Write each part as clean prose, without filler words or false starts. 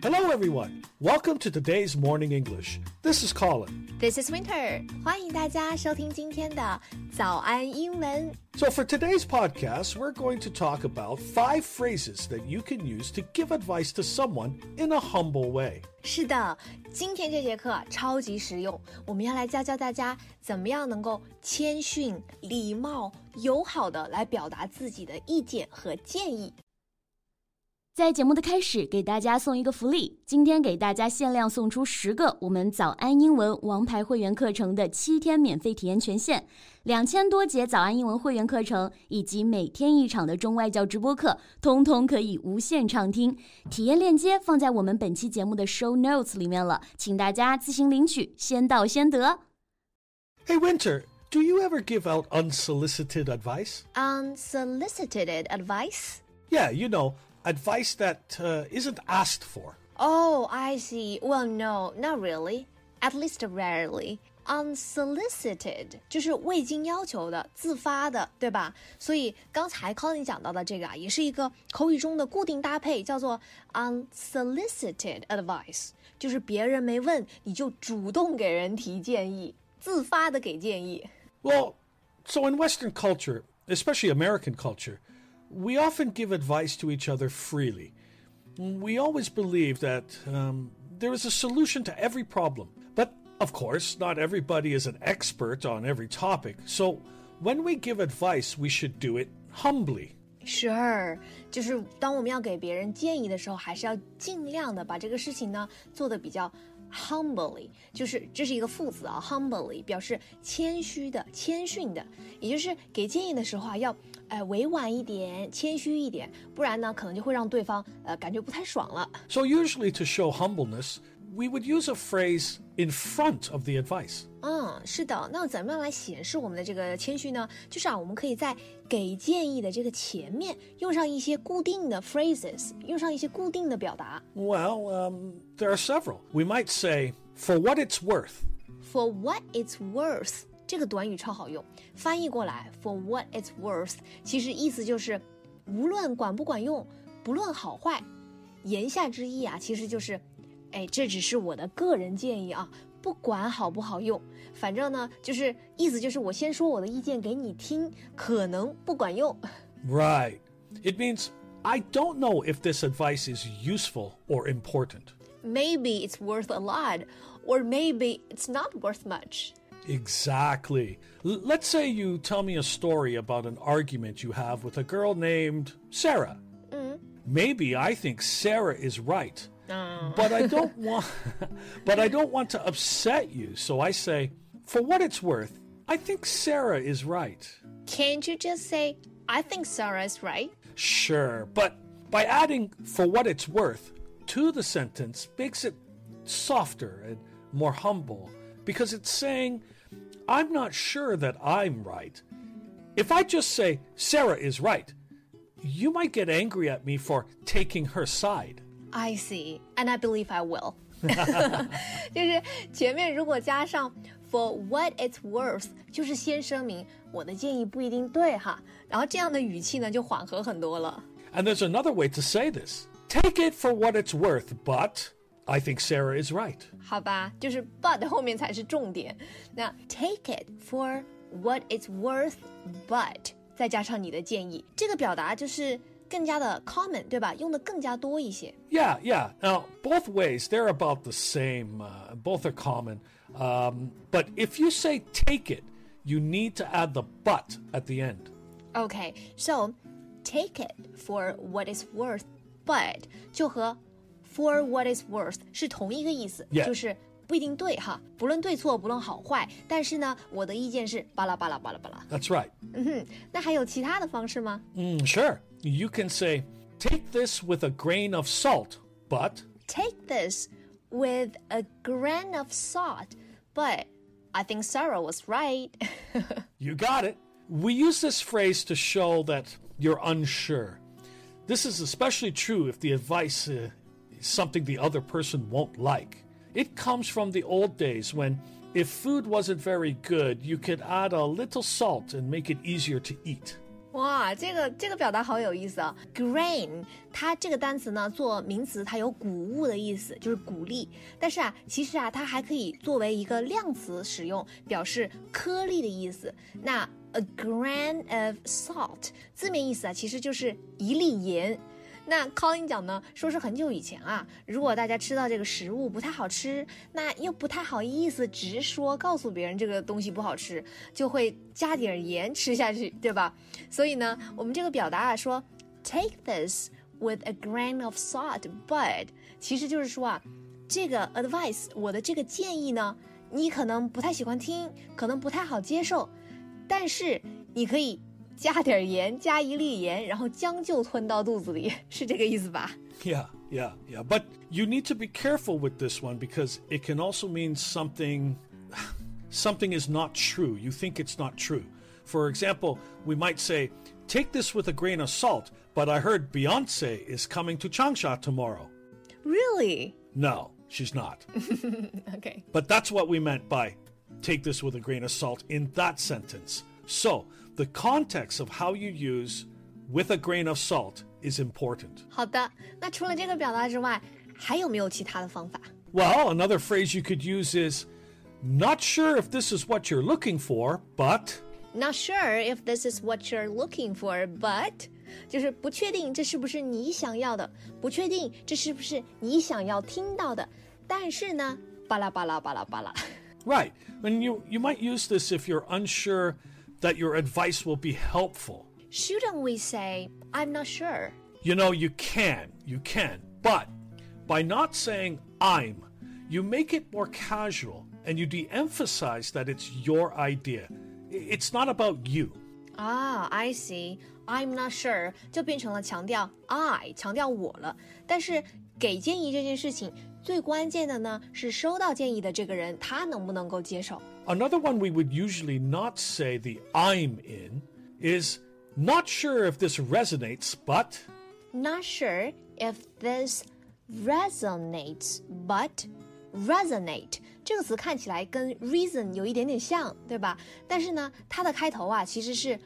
Hello, everyone. Welcome to today's Morning English. This is Colin. This is Winter. 欢迎大家收听今天的早安英文。 So for today's podcast, we're going to talk about 5 phrases that you can use to give advice to someone in a humble way. 是的，今天这节课超级实用，我们要来教大家怎么样能够谦逊、礼貌、友好的来表达自己的意见和建议。 在节目的开始，给大家送一个福利，今天给大家限量送出10个我们早安英文王牌会员课程的7天免费体验权限，2000多节早安英文会员课程以及每天1场的中外教直播课，通通可以无限畅听。体验链接放在我们本期节目的 show notes 里面了，请大家自行领取，先到先得。 Hey, Winter, do you ever give out unsolicited advice? Unsolicited advice? Yeah, you know.Advice that isn't asked for. Oh, I see. Well, no, not really. At least rarely. Unsolicited 就是未经要求的、自发的，对吧？所以刚才 Colin 讲到的这个也是一个口语中的固定搭配，叫做 unsolicited advice， 就是别人没问你就主动给人提建议，自发的给建议。 Well, so in Western culture, especially American culture,We often give advice to each other freely. We always believe that there is a solution to every problem. But, of course, not everybody is an expert on every topic. So, when we give advice, we should do it humbly. Sure, 就是当我们要给别人建议的时候，还是要尽量的把这个事情呢做得比较humbly， 就是这是一个副词啊 humbly 表示谦虚的、谦逊的，也就是给建议的时候要委婉一点、谦虚一点，不然呢可能就会让对方感觉不太爽了。 So usually to show humbleness, we would use a phrase in front of the advice. 是的，那怎么样来显示我们的这个谦虚呢？就是我们可以在给建议的这个前面用上一些固定的 phrases， 用上一些固定的表达。 Well, there are several. We might say, for what it's worth. For what it's worth. 这个短语超好用，翻译过来 for what it's worth 其实意思就是无论管不管用，不论好坏，言下之意其实就是这只是我的个人建议啊，不管好不好用，反正呢就是意思就是我先说我的意见给你听，可能不管用。 Right. It means I don't know if this advice is useful or important. Maybe it's worth a lot, or maybe it's not worth much.Exactly. Let's say you tell me a story about an argument you have with a girl named Sarah. Maybe I think Sarah is right, but I don't want to upset you. So I say, for what it's worth, I think Sarah is right. Can't you just say, I think Sarah is right? Sure, but by adding for what it's worth to the sentence makes it softer and more humble because it's saying, I'm not sure that I'm right. If I just say, Sarah is right, you might get angry at me for taking her side. I see, and I believe I will. 就是前面如果加上 for what it's worth, 就是先声明我的建议不一定对哈，然后这样的语气呢就缓和很多了。 And there's another way to say this. Take it for what it's worth, but I think Sarah is right. 好吧，就是 but 后面才是重点。那 take it for what it's worth, but 再加上你的建议，这个表达就是更加的 common， 对吧？用的更加多一些。 Yeah. Now, both ways, they're about the same. Both are common. But if you say take it, you need to add the but at the end. Okay, so take it for what it's worth, but 就和For what it's worth 是同一个意思， Yeah. 就是不一定对哈，不论对错，不论好坏，但是呢，我的意见是巴拉巴拉巴拉巴拉。 That's right. 那还有其他的方式吗？ Sure. You can say, take this with a grain of salt, but... Take this with a grain of salt, but I think Sarah was right. You got it. We use this phrase to show that you're unsure. This is especially true if the advice is something the other person won't like. It comes from the old days when if food wasn't very good, you could add a little salt and make it easier to eat. 哇，这个表达好有意思啊 ！Grain， 它这个单词呢，做名词，它有谷物的意思，就是谷粒。但是其实它还可以作为一个量词使用，表示颗粒的意思。那 a grain of salt 字面意思其实就是一粒盐。那 Colin 讲呢，说是很久以前如果大家吃到这个食物不太好吃，那又不太好意思直说告诉别人这个东西不好吃，就会加点盐吃下去，对吧？所以呢，我们这个表达说 take this with a grain of salt, but 其实就是说这个 advice 我的这个建议呢，你可能不太喜欢听，可能不太好接受，但是你可以加点盐，加一粒盐，然后将就吞到肚子里，是这个意思吧？ Yeah. But you need to be careful with this one because it can also mean something is not true. You think it's not true. For example, we might say, take this with a grain of salt, but I heard Beyonce is coming to Changsha tomorrow. Really? No, she's not. Okay. But that's what we meant by take this with a grain of salt in that sentence. So, the context of how you use with a grain of salt is important. 好的，那除了这个表达之外，还有没有其他的方法？ Well, another phrase you could use is, not sure if this is what you're looking for, but... Not sure if this is what you're looking for, but 就是不确定这是不是你想要的，不确定这是不是你想要听到的，但是呢，巴拉巴拉巴拉巴拉。 Right. And you might use this if you're unsure that your advice will be helpful. Shouldn't we say, I'm not sure? You know, you can, but by not saying I'm, you make it more casual and you de-emphasize that it's your idea. It's not about you. I see. I'm not sure 就变成了强调 I 强调我了。但是给建议这件事情最关键的呢是收到建议的这个人他能不能够接受。 Another one we would usually not say the I'm in is not sure if this resonates, but... Not sure if this resonates, but resonate 这个词看起来跟 reason 有一点点像，对吧？但是呢，它的开头其实是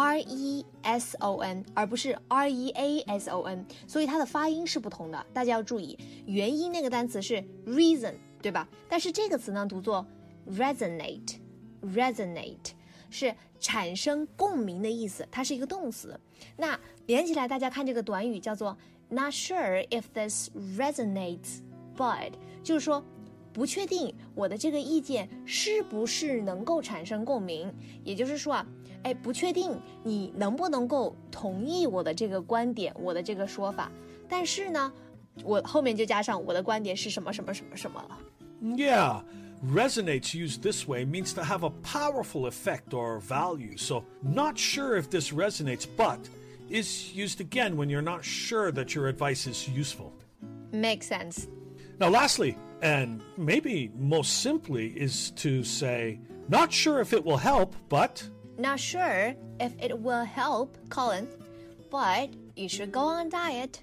reson 而不是 reason， 所以它的发音是不同的，大家要注意。元音那个单词是 reason， 对吧？但是这个词呢读作 resonate 是产生共鸣的意思，它是一个动词。那连起来大家看这个短语叫做 Not sure if this resonates, but 就是说不确定我的这个意见是不是能够产生共鸣，也就是说不确定你能不能够同意我的这个观点，我的这个说法，但是呢我后面就加上我的观点是什么什么什么什么了。 Yeah, resonates used this way means to have a powerful effect or value. So, not sure if this resonates, but is used again when you're not sure that your advice is useful. Makes sense. Now, lastly, and maybe most simply, is to say, not sure if it will help, but... Not sure if it will help, Colin, but you should go on diet.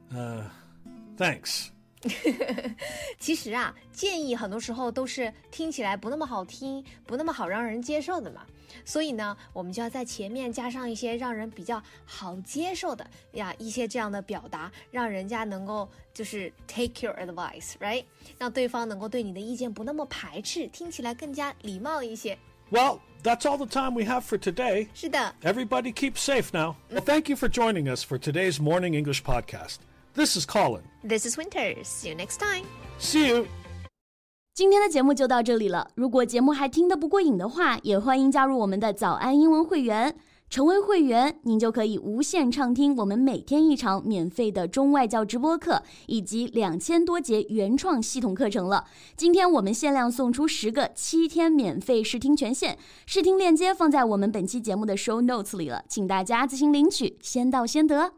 Thanks. 其实建议很多时候都是听起来不那么好听，不那么好让人接受的嘛。所以呢，我们就要在前面加上一些让人比较好接受的一些这样的表达，让人家能够就是 take your advice, right? 让对方能够对你的意见不那么排斥，听起来更加礼貌一些。 Well, that's all the time we have for today. 是的。 Everybody keep safe now. Well, thank you for joining us for today's Morning English podcast. This is Colin. This is Winter. See you next time. See you. 今天的节目就到这里了。如果节目还听得不过瘾的话，也欢迎加入我们的早安英文会员。成为会员，您就可以无限畅听我们每天一场免费的中外教直播课，以及2000多节原创系统课程了。今天我们限量送出10个7天免费试听权限，试听链接放在我们本期节目的 show notes 里了，请大家自行领取，先到先得。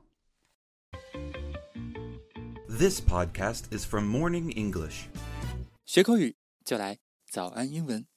This podcast is from Morning English. 学口语就来早安英文。